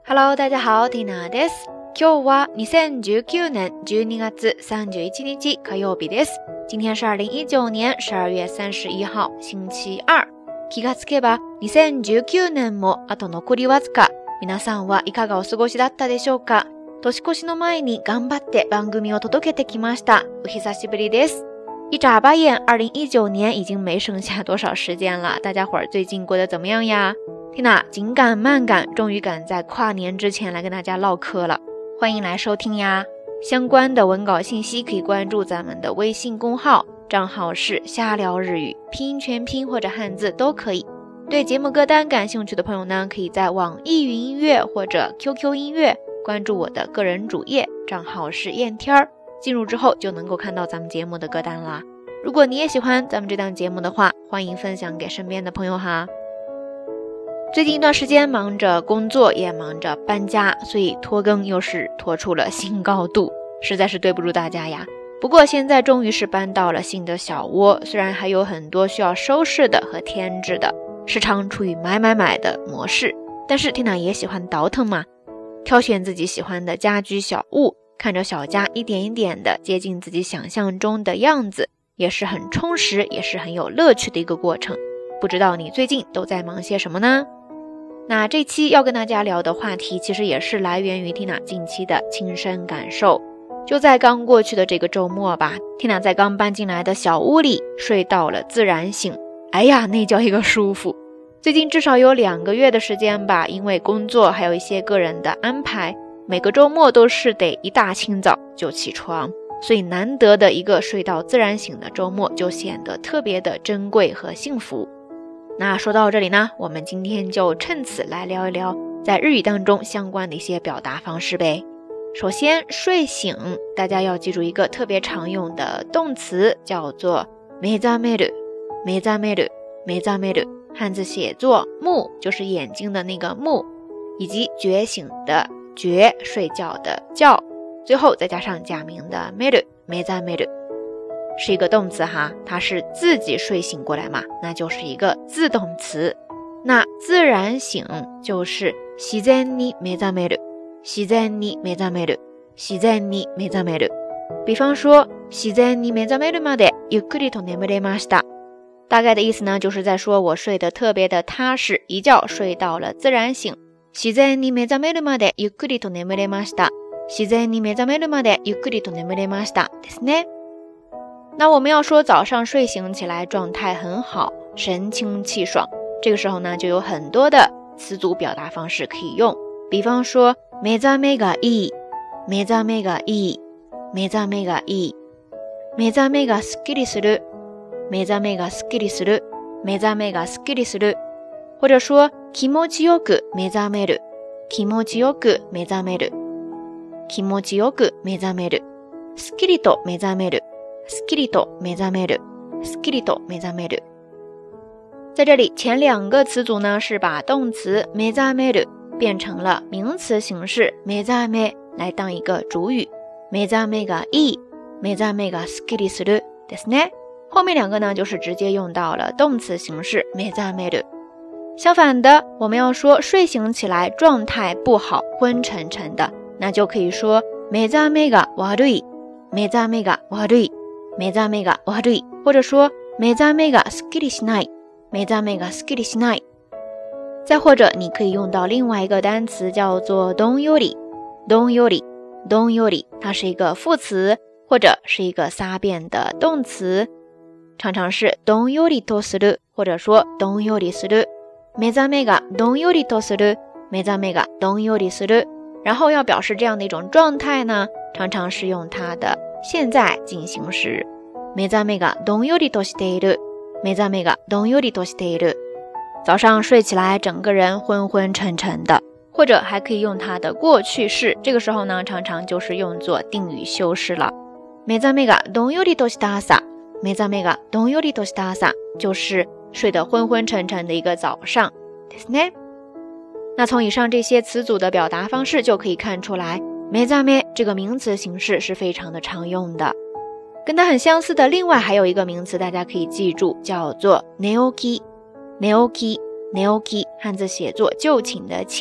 Hello， 大家好，ティナです。今日は2019年12月31日火曜日です。今天是2019年12月31号星期二。気がつけば2019年もあと残りわずか。皆さんはいかがお過ごしだったでしょうか？年越しの前に頑張って番組を届けてきました。お久しぶりです。一眨巴眼2019年已经没剩下多少时间了，大家伙儿最近过得怎么样呀？缇娜紧赶慢赶，终于赶在跨年之前来跟大家唠嗑了，欢迎来收听呀！相关的文稿信息可以关注咱们的微信公号，账号是瞎聊日语，拼音全拼或者汉字都可以。对节目歌单感兴趣的朋友呢，可以在网易云音乐或者 QQ 音乐关注我的个人主页，账号是燕天儿，进入之后就能够看到咱们节目的歌单啦。如果你也喜欢咱们这档节目的话，欢迎分享给身边的朋友哈。最近一段时间忙着工作，也忙着搬家，所以拖更又是拖出了新高度，实在是对不住大家呀。不过现在终于是搬到了新的小窝，虽然还有很多需要收拾的和添置的，时常处于买的模式，但是缇娜也喜欢倒腾嘛，挑选自己喜欢的家居小物，看着小家一点一点的接近自己想象中的样子，也是很充实，也是很有乐趣的一个过程。不知道你最近都在忙些什么呢？那这期要跟大家聊的话题其实也是来源于缇娜近期的亲身感受。就在刚过去的这个周末吧，缇娜在刚搬进来的小屋里睡到了自然醒，哎呀，那叫一个舒服。最近至少有2个月的时间吧，因为工作还有一些个人的安排，每个周末都是得一大清早就起床，所以难得的一个睡到自然醒的周末就显得特别的珍贵和幸福。那说到这里呢，我们今天就趁此来聊一聊在日语当中相关的一些表达方式呗。首先，睡醒，大家要记住一个特别常用的动词，叫做目覚める。目覚める，目覚める，汉字写作目，就是眼睛的那个目，以及觉醒的觉，睡觉的觉，最后再加上假名的める，目覚める。是一个动词哈，它是自己睡醒过来嘛，那就是一个自动词。那自然醒就是自然に目覚める，自然に目覚める，自然に目覚める。比方说自然に目覚めるまでゆっくりと眠れました。大概的意思呢，就是在说我睡得特别的踏实，一觉睡到了自然醒。自然に目覚めるまでゆっくりと眠れました。自然に目覚めるまでゆっくりと眠れましたですね。那我们要说早上睡醒起来状态很好，神清气爽，这个时候呢就有很多的词组表达方式可以用。比方说目覚めがいい，目覚めがいい，目覚めがいい，目覚めがすっきりする，目覚めがすっきりする，目覚めがすっきりする。或者说気持ちよく目覚める，気持ちよく目覚める，気持ちよく目覚める，すっきりと目覚める，すっきりと目覚める，すっきりと目覚める。在这里前2个词组呢是把动词目覚める变成了名词形式目覚め来当一个主语。目覚めがいい，目覚めがすっきりするですね。后面2个呢就是直接用到了动词形式目覚める。相反的，我们要说睡醒起来状态不好，昏沉沉的，那就可以说目覚めが悪い，目覚めが悪い，目覚めが悪い，或者说目覚めがすっきりしない，目覚めがすっきりしない。再或者你可以用到另外一个单词叫做どんより，どんより，どんより，它是一个副词或者是一个撒变的动词，常常是どんよりとする，或者说どんよりする。目覚めがどんよりとする，目覚めがどんよりする。然後要表示这样的一种状态呢，常常是用它的现在进行时。目覚めがどんよりとしている，目覚めがどんよりとしている。早上睡起来整个人昏昏沉沉的，或者还可以用它的过去式，这个时候呢常常就是用作定语修饰了。目覚めがどんよりとした朝，目覚めがどんよりとした朝，就是睡得昏昏沉沉的一个早上ですね。那从以上这些词组的表达方式就可以看出来，目覚め这个名词形式是非常的常用的。跟它很相似的另外还有一个名词大家可以记住，叫做寝起き。寝起き，寝起き，汉字写作就寝的寝，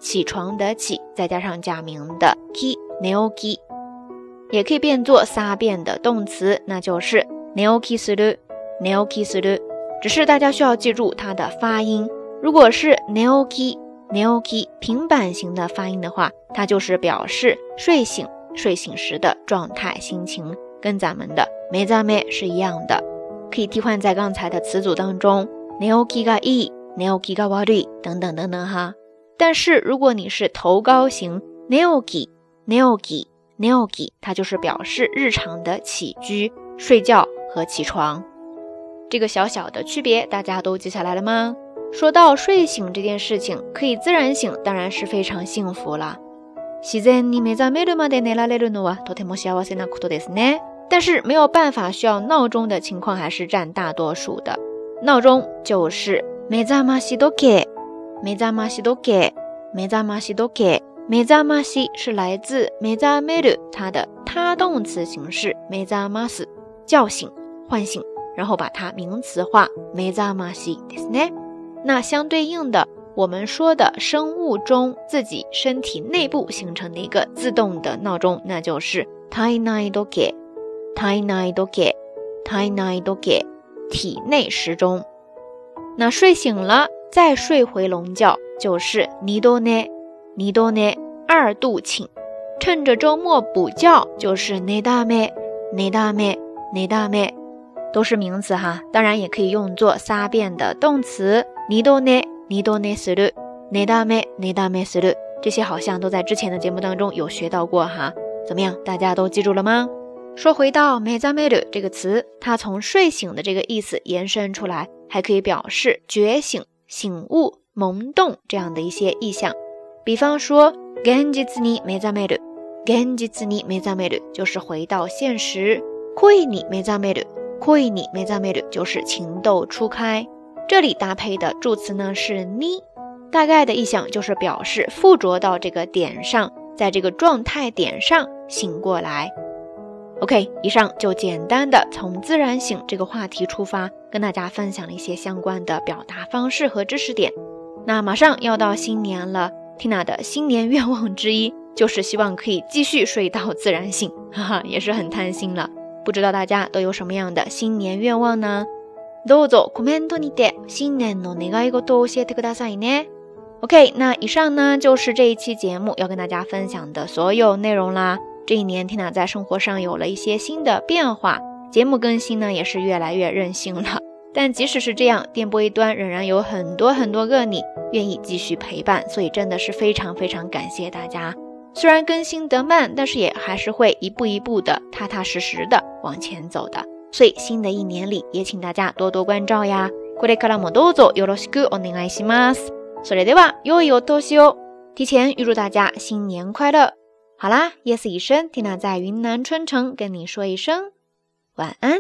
起床的起，再加上假名的 ki neoki， 也可以变作撒变的动词，那就是neoki suru neoki suru， 只是大家需要记住它的发音。如果是 neoki neoki 平板型的发音的话，它就是表示睡醒时的状态心情，跟咱们的目覚め是一样的，可以替换在刚才的词组当中， neokiがいい neokiが悪い等等等等哈。但是如果你是头高型 neoki neoki neoki， 它就是表示日常的起居、睡觉和起床。这个小小的区別大家都记下来了吗？说到睡醒这件事情，可以自然醒当然是非常幸福了。自然に目覚めるまで寝られるのはとても幸せなことですね。但是没有办法需要闹钟的情况还是占大多数的。闹钟就是目覚まし時計目覚まし時計目覚まし時計目覚まし是来自目覚める它的他动词形式目覚ます叫醒唤醒，然后把它名词化目覚ましですね。那相对应的，我们说的生物钟自己身体内部形成的一个自动的闹钟，那就是体内時計体内時計体内時計体内时钟。那睡醒了再睡回笼觉就是二度寝二度寝二度寝。趁着周末补觉就是寝だめ寝だめ寝だめ，都是名词哈，当然也可以用作撒变的动词二度寝二度寝する寝だめ寝だめする，这些好像都在之前的节目当中有学到过哈。怎么样，大家都记住了吗？说回到目覚める这个詞，它从睡醒的这个意思延伸出来，还可以表示觉醒、醒悟、萌动这样的一些意象。比方说現実に目覚める現実に目覚める就是回到现实，恋に目覚める恋に目覚める就是情窦初开。这里搭配的助词呢是に，大概的意象就是表示附着到这个点上，在这个状态点上醒过来。OK， 以上就简单的从自然醒这个话题出发，跟大家分享了一些相关的表达方式和知识点。那马上要到新年了， Tina 的新年愿望之一就是希望可以继续睡到自然醒，哈哈，也是很贪心了。不知道大家都有什么样的新年愿望呢？どうぞコメントにて新年の願い事を教えてくださいね。OK， 那以上呢就是这一期节目要跟大家分享的所有内容啦。这一年 Tina 在生活上有了一些新的变化，节目更新呢也是越来越任性了。但即使是这样，电波一端仍然有很多个你愿意继续陪伴，所以真的是非常感谢大家。虽然更新得慢，但是也还是会一步一步的踏踏实实的往前走的。所以新的一年里也请大家多多关照呀。これからもどうぞよろしくお願いします。それでは良いお年を。提前预祝大家新年快乐。好啦，夜色已深， Tina 在云南春城跟你说一声晚安。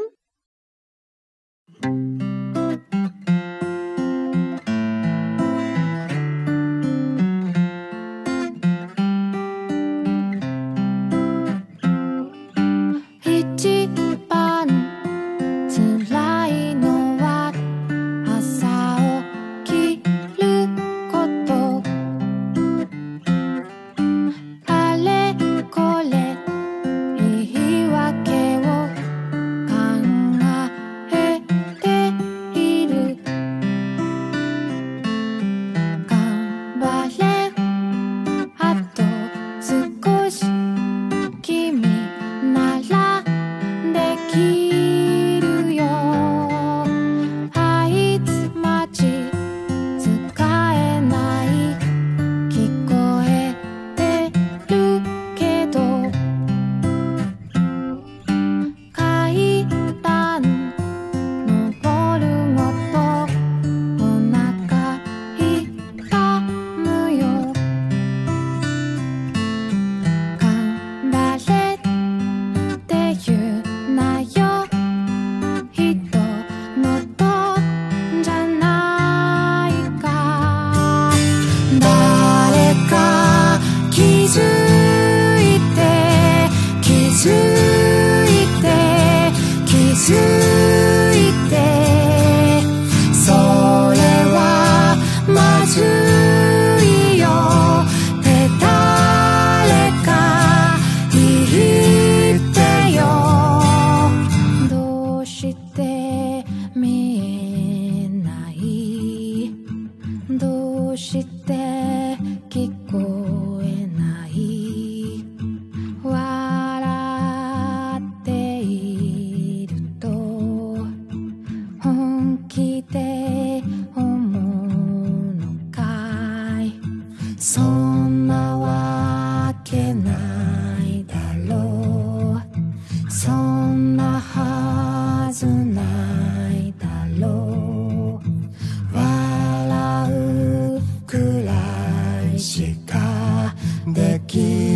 聞こえない。笑っていると本気で思うのかい。そんなわけないだろう。そんなはずないだろう。笑うくらいしかでき